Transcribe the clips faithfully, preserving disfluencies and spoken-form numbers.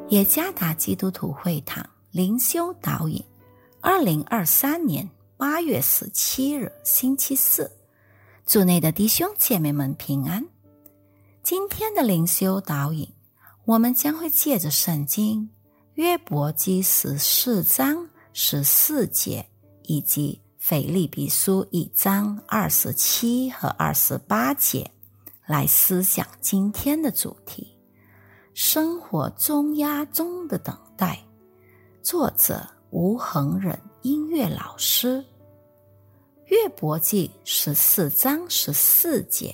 耶加达基督徒会堂灵修导引，二零二三年八月十七日星期四，主内的弟兄姐妹们平安。今天的灵修导引，我们将会借着圣经约伯记十四章十四节以及腓立比书一章二十七和二十八节来思想今天的主题：生活重压中的等待。作者吴恒忍音乐老师。约伯记十四章十四节：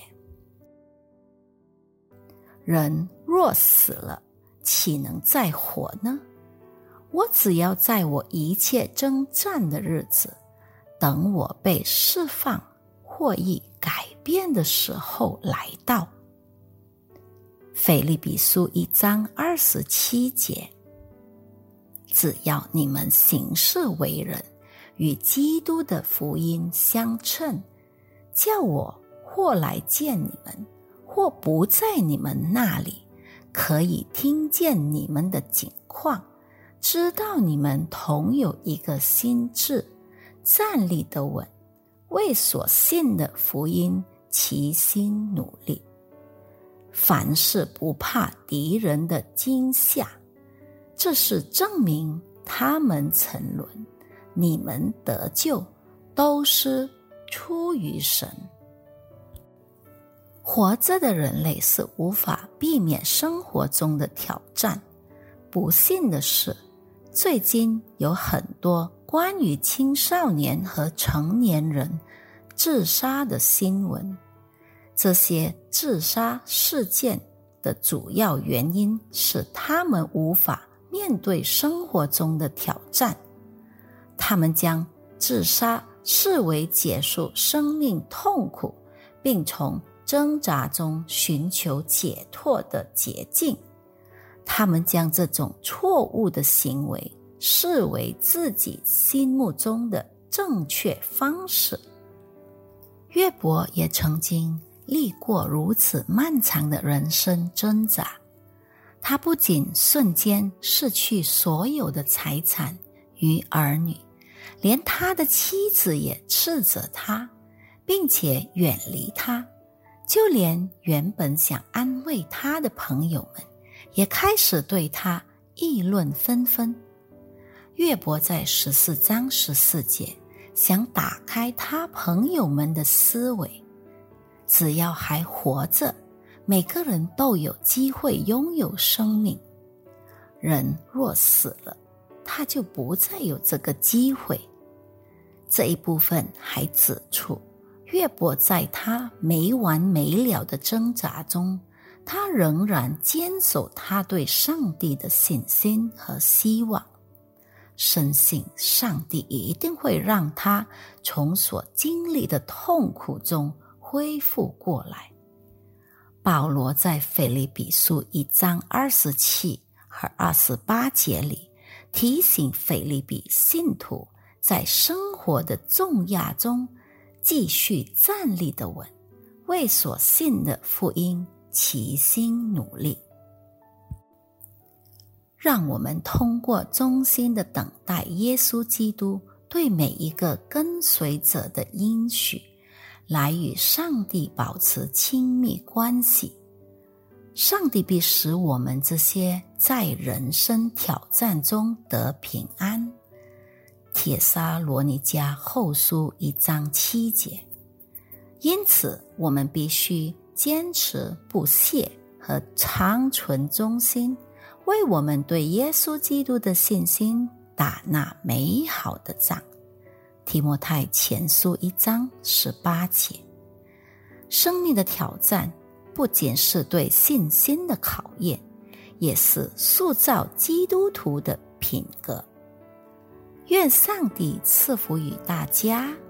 人若死了，岂能再活呢？我只要在我一切征战的日子，等我被释放或已改变的时候来到。腓立比书一章二十七节：只要你们行事为人与基督的福音相称，叫我或来见你们，或不在你们那里，可以听见你们的景况，知道你们同有一个心志，站立得稳，为所信的福音齐心努力。凡事不怕敌人的惊吓，这是证明他们沉沦，你们得救都是出于神。活着的人类是无法避免生活中的挑战。不幸的是，最近有很多关于青少年和成年人自杀的新闻。这些自杀事件的主要原因是他们无法面对生活中的挑战，他们将自杀视为结束生命痛苦并从挣扎中寻求解脱的捷径，他们将这种错误的行为视为自己心目中的正确方式。约伯也曾经历过如此漫长的人生挣扎，他不仅瞬间失去所有的财产与儿女，连他的妻子也斥责他，并且远离他，就连原本想安慰他的朋友们也开始对他议论纷纷。约伯在十四章十四节想打开他朋友们的思维，只要还活着，每个人都有机会拥有生命。人若死了，他就不再有这个机会。这一部分还指出，约伯在他没完没了的挣扎中，他仍然坚守他对上帝的信心和希望，深信上帝一定会让他从所经历的痛苦中恢复过来。保罗在腓立比书一章二十七和二十八节里提醒腓立比信徒，在生活的重压中继续站立得稳，为所信的福音齐心努力。让我们通过忠心的等待耶稣基督对每一个跟随者的应许，来与上帝保持亲密关系。上帝必使我们这些在人生挑战中得平安。帖撒罗尼迦后书一章七节。因此，我们必须坚持不懈和长存忠心，为我们对耶稣基督的信心打那美好的仗。提摩太前书一章十八节。生命的挑战不仅是对信心的考验，也是塑造基督徒的品格。愿上帝赐福于大家。